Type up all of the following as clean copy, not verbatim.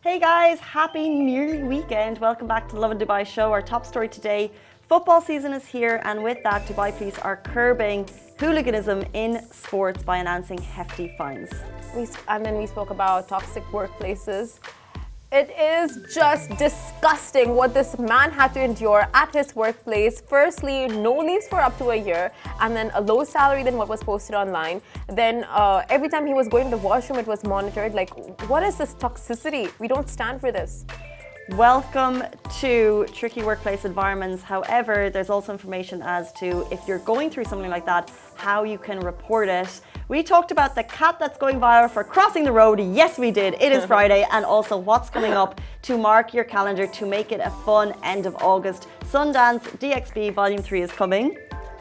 Hey guys, happy nearly weekend. Welcome back to the Lovin Dubai show. Our top story today, football season is here, and with that, Dubai police are curbing hooliganism in sports by announcing hefty fines. And then we spoke about toxic workplaces. It is just disgusting what this man had to endure at his workplace. Firstly, no leaves for up to a year, and then a low salary than what was posted online. Then every time he was going to the washroom, it was monitored. Like, what is this toxicity? We don't stand for this. Welcome to tricky workplace environments. However, there's also information as to if you're going through something like that, how you can report it. We talked about the cat that's going viral for crossing the road. Yes, we did. It is Friday. And also what's coming up to mark your calendar to make it a fun end of August. Sundance DXB Volume 3 is coming.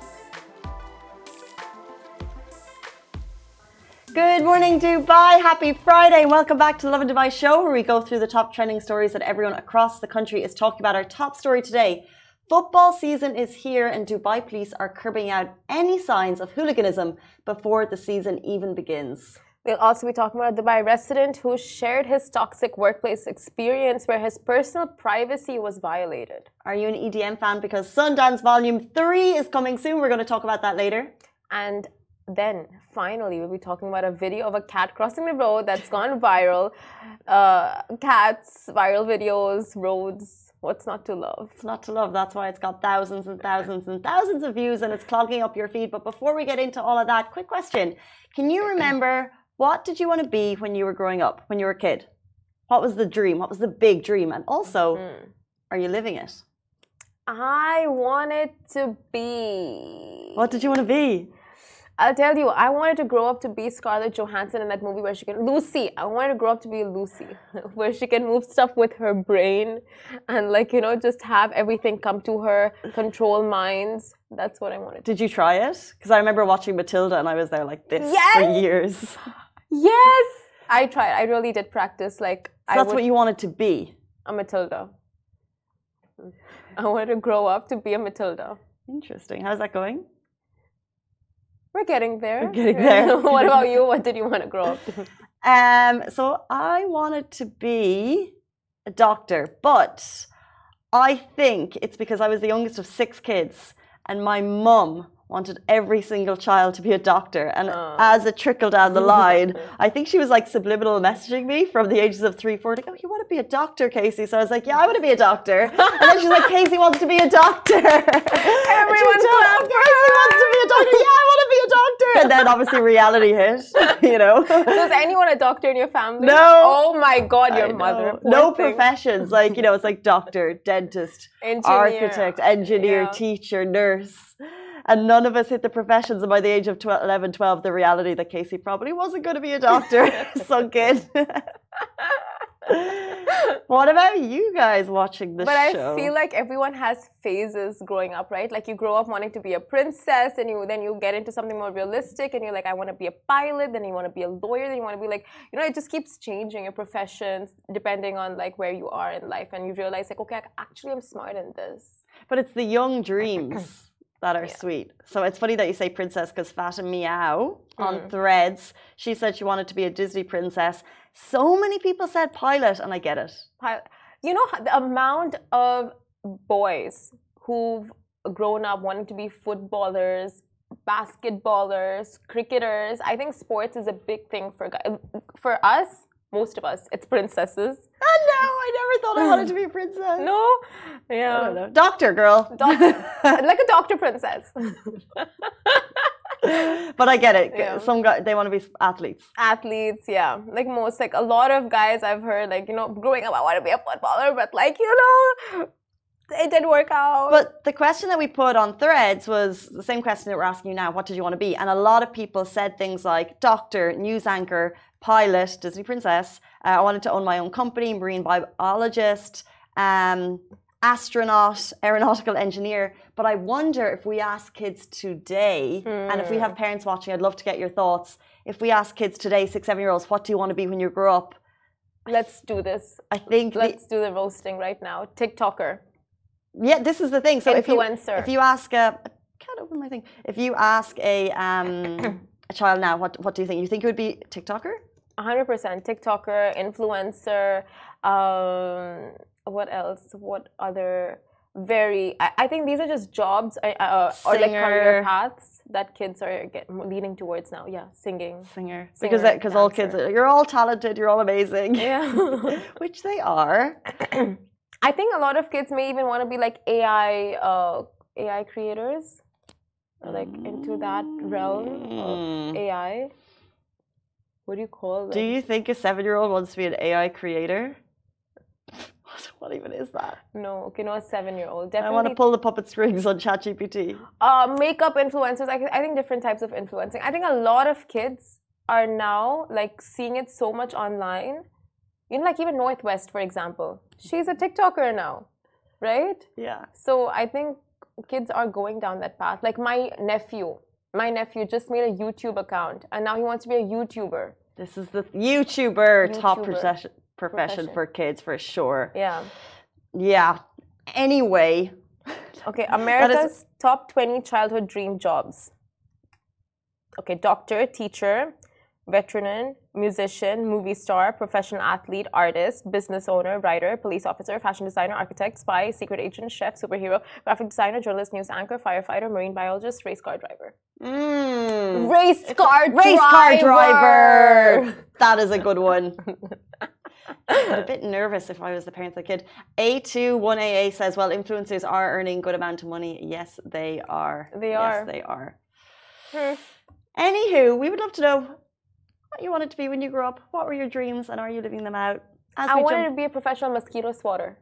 Good morning, Dubai. Happy Friday. Welcome back to the Lovin Dubai show, where we go through the top trending stories that everyone across the country is talking about. Our top story today, football season is here and Dubai police are curbing out any signs of hooliganism before the season even begins. We'll also be talking about a Dubai resident who shared his toxic workplace experience where his personal privacy was violated. Are you an EDM fan? Because Sundance Volume 3 is coming soon. We're going to talk about that later. And then, finally, we'll be talking about a video of a cat crossing the road that's gone viral. Cats, viral videos, roads. What's not to love? It's not to love. That's why it's got thousands and thousands and thousands of views and it's clogging up your feed. But before we get into all of that, quick question. Can you remember, what did you want to be when you were growing up, when you were a kid? What was the dream? What was the big dream? And also, are you living it? I wanted to be... What did you want to be? I'll tell you, I wanted to grow up to be Scarlett Johansson in that movie where she can... Lucy. I wanted to grow up to be Lucy, where she can move stuff with her brain and, like, you know, just have everything come to her, control minds. That's what I wanted. Did you try it? Because I remember watching Matilda and I was there like this for years. Yes! I tried. I really did practice. Like, so that's what you wanted to be? A Matilda. I wanted to grow up to be a Matilda. Interesting. How's that going? We're getting there. We're getting there. What about you? What did you want to grow up to? So I wanted to be a doctor, but I think it's because I was the youngest of 6 kids and my mum wanted every single child to be a doctor. And as it trickled down the line, I think she was like subliminal messaging me from the ages of 3, 4, like, oh, you want to be a doctor, Casey? So I was like, yeah, I want to be a doctor. And then she's like, Casey wants to be a doctor. Everyone clapped. Casey wants to be a doctor. Yeah, I want to be a doctor. And then obviously reality hit, you know. So is anyone a doctor in your family? No. Oh my God, your mother. No professions. Like, you know, it's like doctor, dentist, engineer, architect, engineer, teacher, nurse. And none of us hit the professions. And by the age of 11, 12, the reality that Casey probably wasn't going to be a doctor sunk in. What about you guys watching this show? I feel like everyone has phases growing up, right? Like you grow up wanting to be a princess and then you get into something more realistic and you're like, I want to be a pilot, then you want to be a lawyer, then you want to be like, you know, it just keeps changing your professions depending on like where you are in life. And you realize like, okay, actually I'm smart in this. But it's the young dreams that are sweet. So it's funny that you say princess because Fatima Meow on Threads, she said she wanted to be a Disney princess. So many people said pilot, and I get it. You know, the amount of boys who've grown up wanting to be footballers, basketballers, cricketers. I think sports is a big thing for guys. For us, most of us, it's princesses. Oh, no, I never thought I wanted to be a princess. No? Yeah. I don't know. Doctor, girl. Like a doctor princess. But I get it. Yeah. Some guys, they want to be athletes. Athletes, yeah. Like most, like a lot of guys I've heard, like, you know, growing up, I want to be a footballer, but like, you know, it didn't work out. But the question that we put on Threads was the same question that we're asking you now. What did you want to be? And a lot of people said things like doctor, news anchor, pilot, Disney princess. I wanted to own my own company, marine biologist, astronaut, aeronautical engineer. But I wonder if we ask kids today, and if we have parents watching, I'd love to get your thoughts. If we ask kids today, 6, 7-year-olds, what do you want to be when you grow up? Let's do this. I think let's do the roasting right now. TikToker. Yeah, this is the thing. So influencer. If you ask I can't open my thing. If you ask a child now, what do you think? You think it would be TikToker? 100%. TikToker, influencer, what else? What other I think these are just jobs or like career paths that kids are leaning towards now. Yeah, singing. Singer. Because all kids, you're all talented, you're all amazing. Yeah. Which they are. I think a lot of kids may even want to be like AI creators, like into that realm of AI. What do you call it? Do you think a 7-year-old wants to be an AI creator? What even is that? No, okay, no, a 7-year-old. Definitely. I want to pull the puppet strings on ChatGPT. Makeup influencers. I think different types of influencing. I think a lot of kids are now like seeing it so much online. You know, like even Northwest, for example. She's a TikToker now, right? Yeah. So I think kids are going down that path. Like my nephew just made a YouTube account and now he wants to be a YouTuber. This is the YouTuber. Top profession for kids for sure. Yeah. Anyway. Okay, America's top 20 childhood dream jobs. Okay, doctor, teacher, veteran, musician, movie star, professional athlete, artist, business owner, writer, police officer, fashion designer, architect, spy, secret agent, chef, superhero, graphic designer, journalist, news anchor, firefighter, marine biologist, race car driver. Race car driver. That is a good one. I'm a bit nervous if I was the parents of the kid. A21AA says, well, influencers are earning good amount of money. Yes, they are. Yes, they are. Anywho, we would love to know what you wanted to be when you grew up. What were your dreams and are you living them out? I wanted to be a professional mosquito swatter.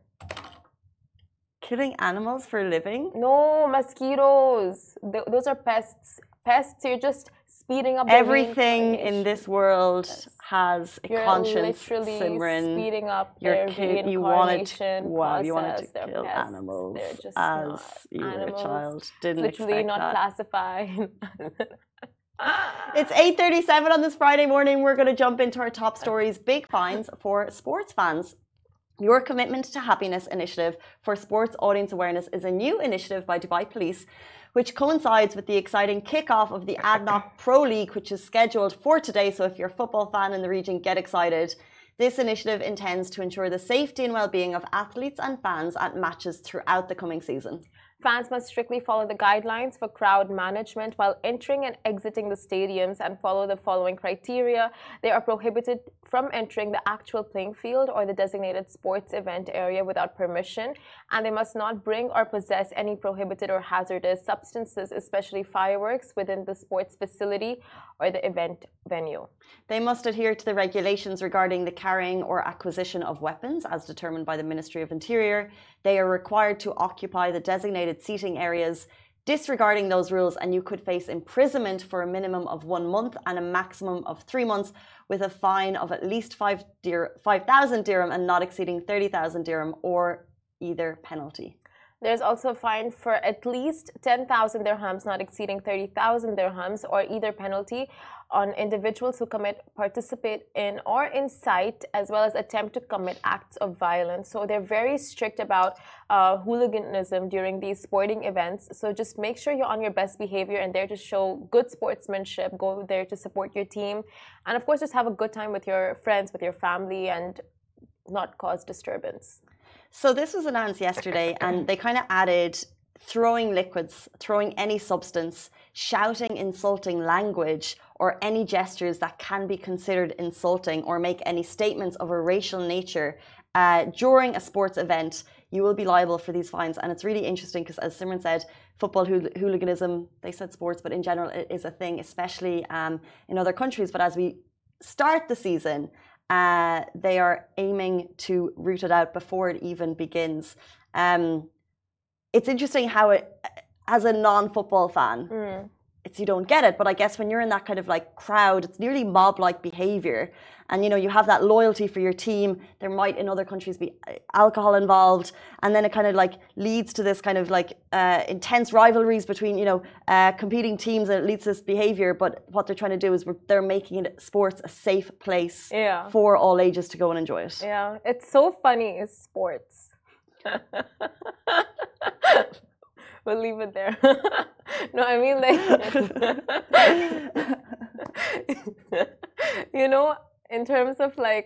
Killing animals for a living? No, mosquitoes. Those are pests. Pests, you're just speeding up everything in this world has a conscience, literally Simran. Speeding up your their kid, you wanted to kill pests. animals just as you were a child. Didn't literally expect not that. classified. It's 8:37 on this Friday morning. We're going to jump into our top stories. Big fines for sports fans. Your Commitment to Happiness initiative for sports audience awareness is a new initiative by Dubai Police, which coincides with the exciting kickoff of the ADNOC Pro League, which is scheduled for today. So if you're a football fan in the region, get excited. This initiative intends to ensure the safety and well-being of athletes and fans at matches throughout the coming season. Fans must strictly follow the guidelines for crowd management while entering and exiting the stadiums and follow the following criteria. They are prohibited from entering the actual playing field or the designated sports event area without permission, and they must not bring or possess any prohibited or hazardous substances, especially fireworks, within the sports facility or the event venue. They must adhere to the regulations regarding the carrying or acquisition of weapons as determined by the Ministry of Interior. They are required to occupy the designated seating areas. Disregarding those rules and you could face imprisonment for a minimum of 1 month and a maximum of 3 months with a fine of at least 5,000 dirham and not exceeding 30,000 dirham or either penalty. There's also a fine for at least 10,000 dirhams, not exceeding 30,000 dirhams, or either penalty on individuals who participate in or incite, as well as attempt to commit acts of violence. So they're very strict about hooliganism during these sporting events. So just make sure you're on your best behavior and there to show good sportsmanship. Go there to support your team. And of course, just have a good time with your friends, with your family, and not cause disturbance. So this was announced yesterday and they kind of added throwing liquids, throwing any substance, shouting insulting language, or any gestures that can be considered insulting or make any statements of a racial nature during a sports event. You will be liable for these fines. And it's really interesting because, as Simran said, football hooliganism, they said sports, but in general it is a thing, especially in other countries. But as we start the season, they are aiming to root it out before it even begins. It's interesting how it, as a non-football fan, you don't get it. But I guess when you're in that kind of like crowd, it's nearly mob-like behavior. And, you know, you have that loyalty for your team. There might in other countries be alcohol involved. And then it kind of like leads to this kind of like intense rivalries between, you know, competing teams, and it leads to this behavior. But what they're trying to do is they're making sports a safe place for all ages to go and enjoy it. Yeah, it's so funny, sports. We'll leave it there. No, I mean like, you know, in terms of like,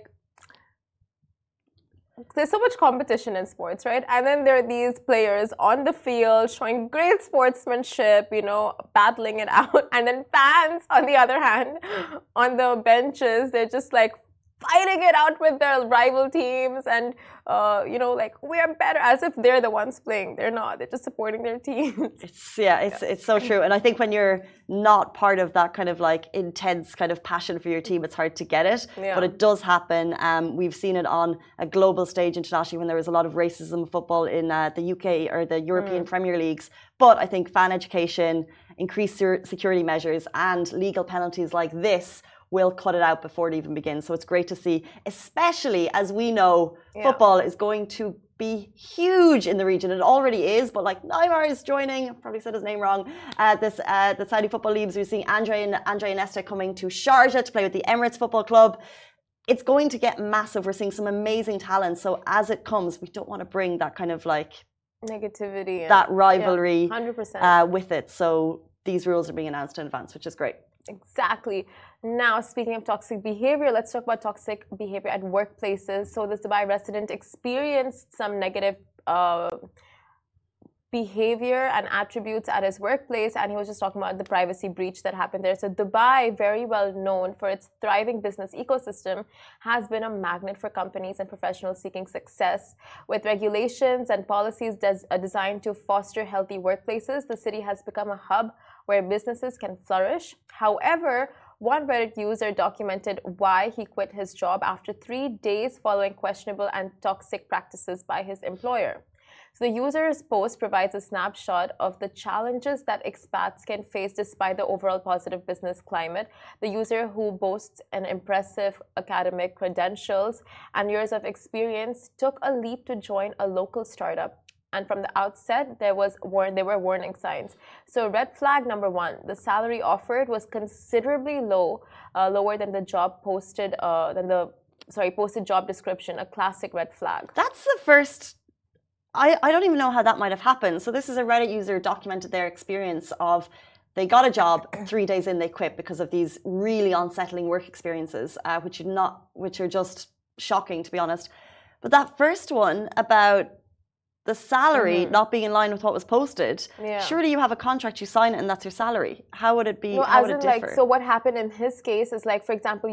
there's so much competition in sports, right? And then there are these players on the field showing great sportsmanship, you know, battling it out. And then fans, on the other hand, on the benches, they're just like fighting it out with their rival teams and, you know, like, we're better, as if they're the ones playing. They're not. They're just supporting their teams. It's so true. And I think when you're not part of that kind of like intense kind of passion for your team, it's hard to get it. Yeah. But it does happen. We've seen it on a global stage internationally when there was a lot of racism in football in the UK or the European Premier Leagues. But I think fan education, increased security measures and legal penalties like this will cut it out before it even begins. So it's great to see, especially as we know football is going to be huge in the region. It already is, but like Neymar is joining, I probably said his name wrong, the Saudi Football Leagues. We're seeing Andre Iniesta coming to Sharjah to play with the Emirates Football Club. It's going to get massive. We're seeing some amazing talent. So as it comes, we don't want to bring that kind of like negativity, that rivalry 100%. With it. So these rules are being announced in advance, which is great. Exactly. Now, speaking of toxic behavior, let's talk about toxic behavior at workplaces. So this Dubai resident experienced some negative behavior and attributes at his workplace, and he was just talking about the privacy breach that happened there. So Dubai, very well known for its thriving business ecosystem, has been a magnet for companies and professionals seeking success. With regulations and policies designed to foster healthy workplaces, the city has become a hub where businesses can flourish. However, one Reddit user documented why he quit his job after 3 days following questionable and toxic practices by his employer. So the user's post provides a snapshot of the challenges that expats can face despite the overall positive business climate. The user, who boasts an impressive academic credentials and years of experience, took a leap to join a local startup. And from the outset, there were warning signs. So red flag number 1, the salary offered was considerably lower than the job posted, posted job description, a classic red flag. That's the first. I don't even know how that might have happened. So this is a Reddit user documented their experience of they got a job, 3 days in they quit because of these really unsettling work experiences, which are just shocking, to be honest. But that first one about the salary not being in line with what was posted, surely you have a contract, you sign it, and that's your salary. How would it be? No, how would it differ? So what happened in his case is, like, for example,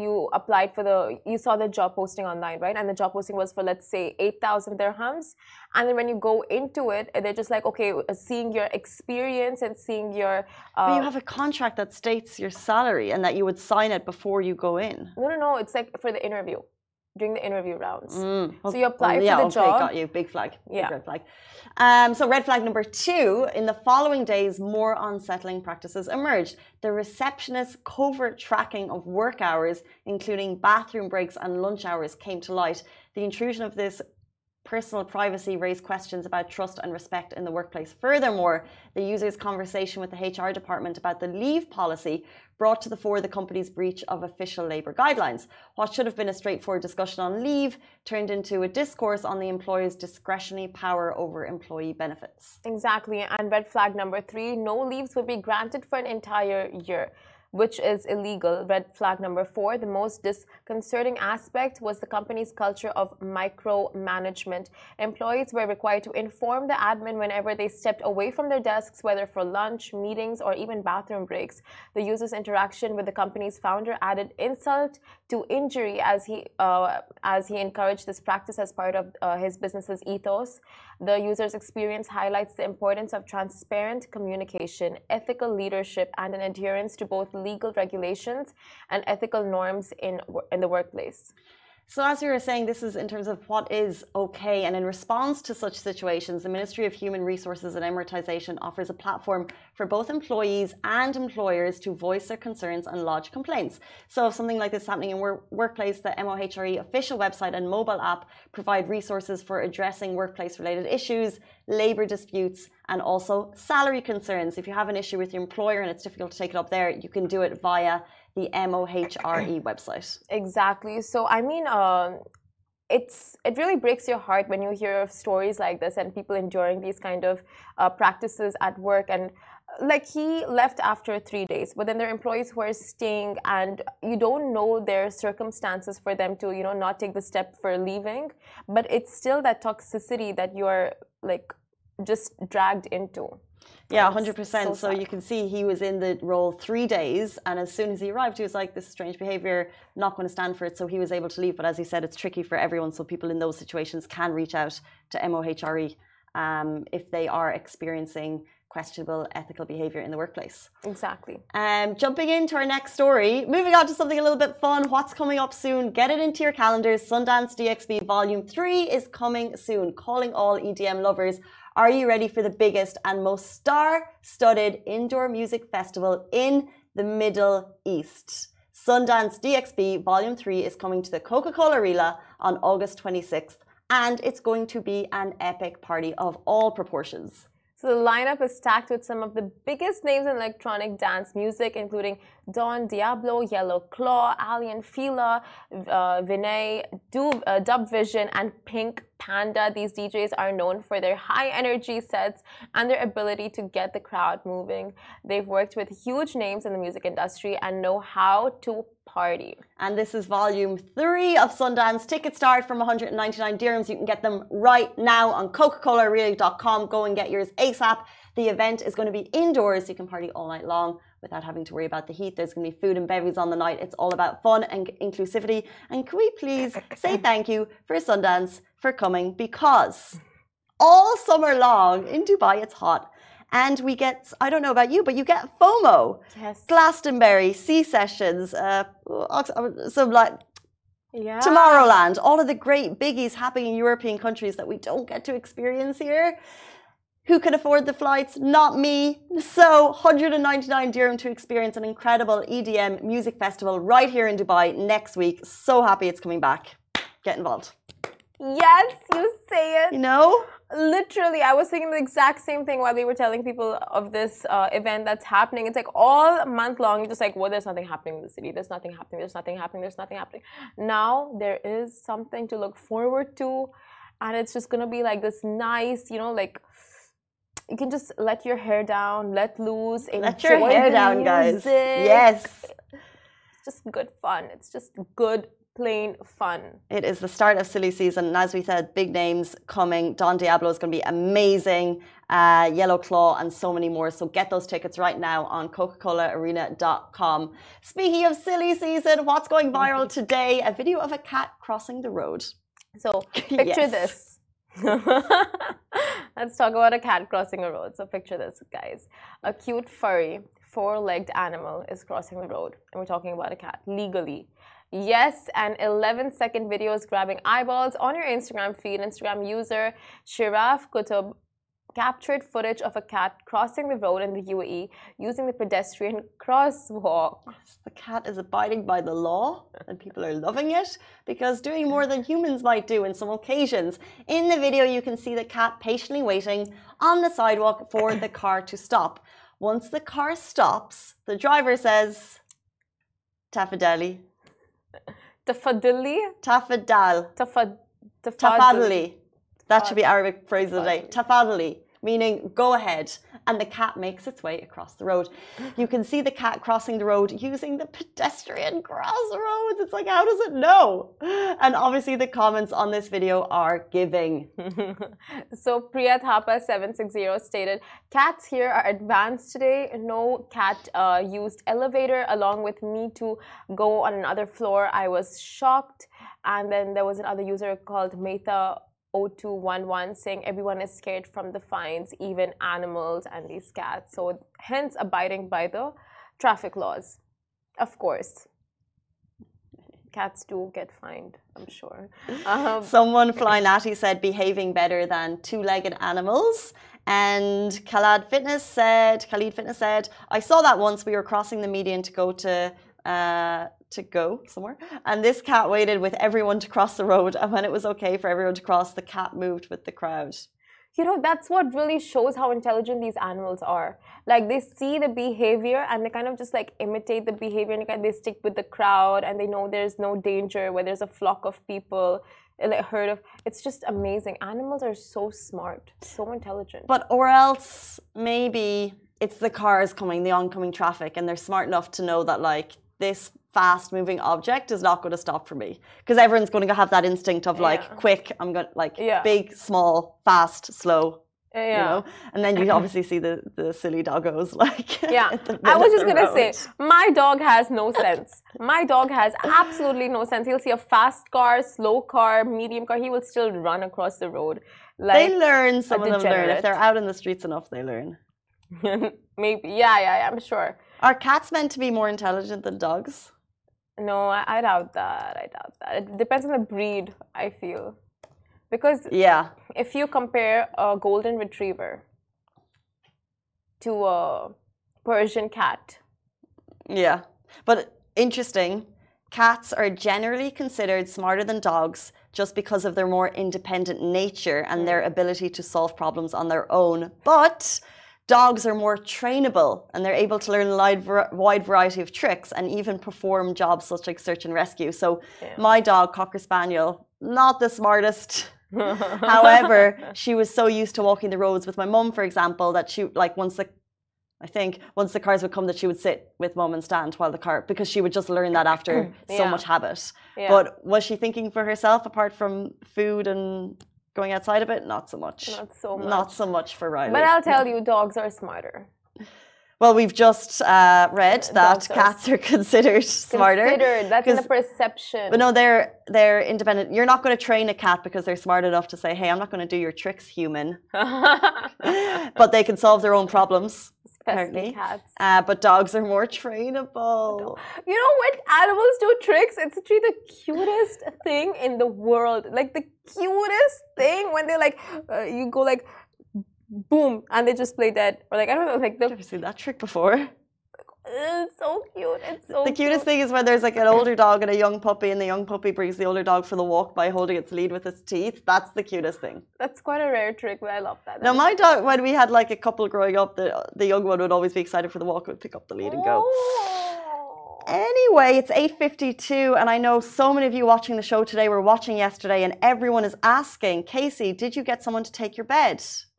you saw the job posting online, right? And the job posting was for, let's say, 8,000 dirhams. And then when you go into it, they're just like, okay, seeing your experience and seeing your... But you have a contract that states your salary and that you would sign it before you go in. No. It's like for the interview. During the interview rounds. So you apply for the job. Got you. Big flag. Big red flag. So red flag number 2, in the following days, more unsettling practices emerged. The receptionist's covert tracking of work hours, including bathroom breaks and lunch hours, came to light. The intrusion of this personal privacy raised questions about trust and respect in the workplace. Furthermore, the user's conversation with the HR department about the leave policy brought to the fore the company's breach of official labour guidelines. What should have been a straightforward discussion on leave turned into a discourse on the employer's discretionary power over employee benefits. Exactly. And red flag number 3, no leaves would be granted for an entire year, which is illegal. Red flag number 4, the most disconcerting aspect was the company's culture of micromanagement. Employees were required to inform the admin whenever they stepped away from their desks, whether for lunch, meetings, or even bathroom breaks. The user's interaction with the company's founder added insult to injury as he encouraged this practice as part of his business's ethos. The user's experience highlights the importance of transparent communication, ethical leadership, and an adherence to both legal regulations and ethical norms in the workplace. So as you were saying, this is in terms of what is okay, and in response to such situations, the Ministry of Human Resources and Emiratization offers a platform for both employees and employers to voice their concerns and lodge complaints. So if something like this is happening in workplace, the MOHRE official website and mobile app provide resources for addressing workplace-related issues, labour disputes, and also salary concerns. If you have an issue with your employer and it's difficult to take it up there, you can do it via the MOHRE website. Exactly. So, I mean, it really breaks your heart when you hear of stories like this and people enduring these kind of practices at work. And like he left after 3 days, but then there are employees were staying, and you don't know their circumstances for them to, not take the step for leaving. But it's still that toxicity that you're like just dragged into. Yeah, And it's 100%. So sad. you can see he was in the role 3 days, and as soon as he arrived, he was like, "This is strange behavior, not going to stand for it." So he was able to leave. But as he said, it's tricky for everyone. So people in those situations can reach out to MOHRE if they are experiencing questionable ethical behavior in the workplace. Exactly. Jumping into our next story, moving on to something a little bit fun. What's coming up soon? Get it into your calendars. Sundance DXB Volume 3 is coming soon. Calling all EDM lovers. Are you ready for the biggest and most star-studded indoor music festival in the Middle East? Sundance DXB Volume 3 is coming to the Coca-Cola Arena on August 26th, and it's going to be an epic party of all proportions. So the lineup is stacked with some of the biggest names in electronic dance music, including Don Diablo, Yellow Claw, Alien Fila, Vinay, Dub Vision, and Pink Panda. These DJs are known for their high energy sets and their ability to get the crowd moving. They've worked with huge names in the music industry and know how to party. And this is volume 3 of Sundance. Tickets start from 199 dirhams. You can get them right now on coca-colaarena.com. Go and get yours ASAP. The event is going to be indoors. You can party all night long without having to worry about the heat. There's going to be food and bevies on the night. It's all about fun and inclusivity. And can we please say thank you for Sundance for coming, because all summer long in Dubai it's hot. And we get, I don't know about you, but you get FOMO. Yes. Glastonbury, Sea Sessions, some like Yeah. Tomorrowland, all of the great biggies happening in European countries that we don't get to experience here. Who can afford the flights? Not me. So 199 dirham to experience an incredible EDM music festival right here in Dubai next week. So happy it's coming back. Get involved. Yes, you say it. You know? Literally, I was thinking the exact same thing while we were telling people of this event that's happening. It's like all month long, you're just like, well, there's nothing happening in the city. There's nothing happening. There's nothing happening. There's nothing happening. Now there is something to look forward to. And it's just going to be like this nice, like you can just let your hair down, let loose, Let your hair down, guys. Yes. It's just good fun. It's just good plain fun. It is the start of silly season, and as we said, big names coming. Don Diablo is going to be amazing, Yellow Claw, and so many more. So get those tickets right now on coca-colaarena.com. Speaking of silly season, what's going viral today? A video of a cat crossing the road. So picture Yes. this. Let's talk about a cat crossing a road. So picture this, guys. A cute furry 4-legged animal is crossing the road, and we're talking about a cat legally. Yes, an 11-second video is grabbing eyeballs on your Instagram feed. Instagram user Shiraf Kutub captured footage of a cat crossing the road in the UAE using the pedestrian crosswalk. The cat is abiding by the law, and people are loving it because doing more than humans might do in some occasions. In the video, you can see the cat patiently waiting on the sidewalk for the car to stop. Once the car stops, the driver says, "Tafadali." Tafadali? Tafadal. Tafadali. That should be Arabic phrase of the day. Tafadali, meaning go ahead. And the cat makes its way across the road. You can see the cat crossing the road using the pedestrian crossroads. It's like, how does it know? And obviously the comments on this video are giving. So Priya Thapa 760 stated, cats here are advanced today. No cat used elevator along with me to go on another floor. I was shocked. And then there was another user called Metha 0211 saying everyone is scared from the fines, even animals and these cats. So hence abiding by the traffic laws. Of course. Cats do get fined, I'm sure. Someone Flynatty said behaving better than two-legged animals. And Khalid Fitness said, I saw that once we were crossing the median to go somewhere, and this cat waited with everyone to cross the road, and when it was okay for everyone to cross, the cat moved with the crowd. That's what really shows how intelligent these animals are. Like, they see the behavior and they kind of just like imitate the behavior, and they stick with the crowd, and they know there's no danger where there's a flock of people, like a herd of. It's just amazing. Animals are so smart, so intelligent. But or else maybe it's the cars coming, the oncoming traffic, and they're smart enough to know that like this fast-moving object is not going to stop for me, because everyone's going to have that instinct of like quick. I'm going to like big, small, fast, slow. You know, and then you obviously see the silly doggos like. Yeah, I was just gonna say, my dog has no sense. My dog has absolutely no sense. He'll see a fast car, slow car, medium car. He will still run across the road. Like they learn. Some of them learn if they're out in the streets enough. They learn. Maybe, yeah, I'm sure. Are cats meant to be more intelligent than dogs? No, I doubt that. It depends on the breed, I feel. Because if you compare a golden retriever to a Persian cat. Yeah, but interesting. Cats are generally considered smarter than dogs just because of their more independent nature and their ability to solve problems on their own. But dogs are more trainable and they're able to learn a wide variety of tricks and even perform jobs such like search and rescue. So my dog, Cocker Spaniel, not the smartest. However, she was so used to walking the roads with my mum, for example, that she like once the cars would come, that she would sit with mum and stand while the car, because she would just learn that after so much habit. But was she thinking for herself apart from food and going outside a bit? Not so much. Not so much for Riley. But I'll tell you, dogs are smarter. Well, we've just read that cats are considered smarter. That's in the perception. But no, they're independent. You're not going to train a cat because they're smart enough to say, hey, I'm not going to do your tricks, human. But they can solve their own problems. Apparently. Cats. But dogs are more trainable. You know when animals do tricks, it's actually the cutest thing in the world. Like the cutest thing when they like, you go like, boom, and they just play dead. Or like, I don't know, like I've never seen that trick before. It's so cute. It's so the cutest thing is when there's like an older dog and a young puppy, and the young puppy brings the older dog for the walk by holding its lead with its teeth. That's the cutest thing. That's quite a rare trick, but I love that. Now, my dog, when we had like a couple growing up, the young one would always be excited for the walk, would pick up the lead and go. Anyway, it's 8:52, and I know so many of you watching the show today were watching yesterday, and everyone is asking, Casey, did you get someone to take your bed?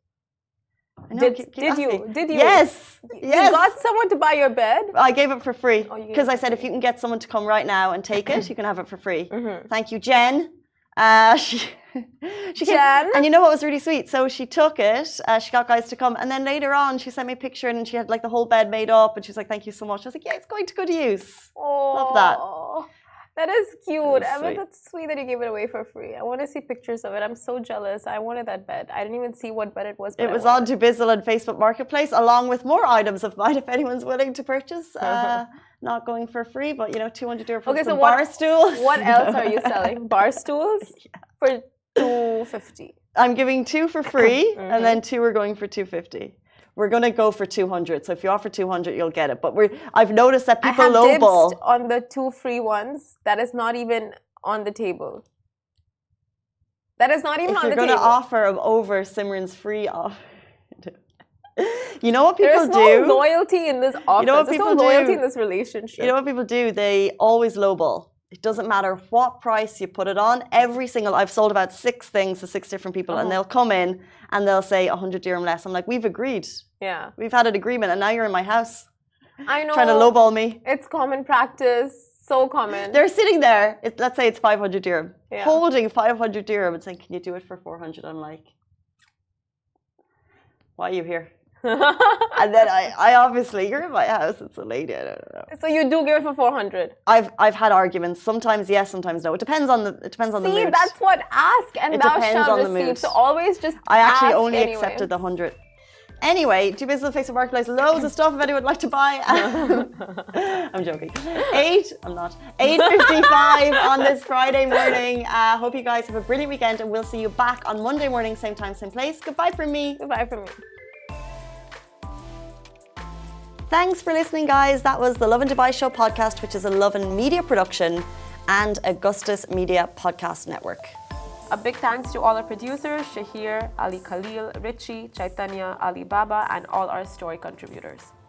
Did you? Yes. You got someone to buy your bed? I gave it for free because I said if you can get someone to come right now and take it, you can have it for free. Thank you, Jen. She Jen? And you know what was really sweet? So she took it, she got guys to come, and then later on she sent me a picture and she had like the whole bed made up, and she was like, thank you so much. I was like, yeah, it's going to good use. Love that. That is cute. I mean, that's sweet that you gave it away for free. I want to see pictures of it. I'm so jealous. I wanted that bed. I didn't even see what bed it was. It was on Dubizzle and Facebook Marketplace, along with more items of mine if anyone's willing to purchase. Not going for free, but you know, 200 euro for some bar stools. What else are you selling? Bar stools for $250. I'm giving 2 for free, and then 2 are going for $250. We're going to go for 200. So if you offer 200, you'll get it. But I've noticed that people lowball. On the 2 free ones, that is not even on the table. That is not even on the table. If you're going to offer over Simran's free offer. You know what people do? There's no loyalty in this offer. You know what people do? There's no loyalty in this relationship. You know what people do? They always lowball. It doesn't matter what price you put it on. I've sold about 6 things to 6 different people, and they'll come in and they'll say 100 dirham less. I'm like, we've agreed. Yeah. We've had an agreement, and now you're in my house. I know. Trying to lowball me. It's common practice. So common. They're sitting there. Let's say it's 500 dirham. Yeah. Holding 500 dirham and saying, can you do it for 400? I'm like, why are you here? And then I obviously, you're in my house, it's a lady, I don't know. So you do give it for 400? I've had arguments. Sometimes yes, sometimes no. It depends on the mood. See, that's what ask and thou shalt receive. So always just I actually only accepted the 100. Anyway, Dubizzle, Facebook Marketplace, loads of stuff if anyone would like to buy. I'm joking. 8:55 on this Friday morning. Hope you guys have a brilliant weekend, and we'll see you back on Monday morning, same time, same place. Goodbye from me. Goodbye from me. Thanks for listening, guys. That was the Lovin Dubai Show podcast, which is a Lovin Media production and Augustus Media Podcast Network. A big thanks to all our producers, Shahir, Ali Khalil, Richie, Chaitanya, Ali Baba, and all our story contributors.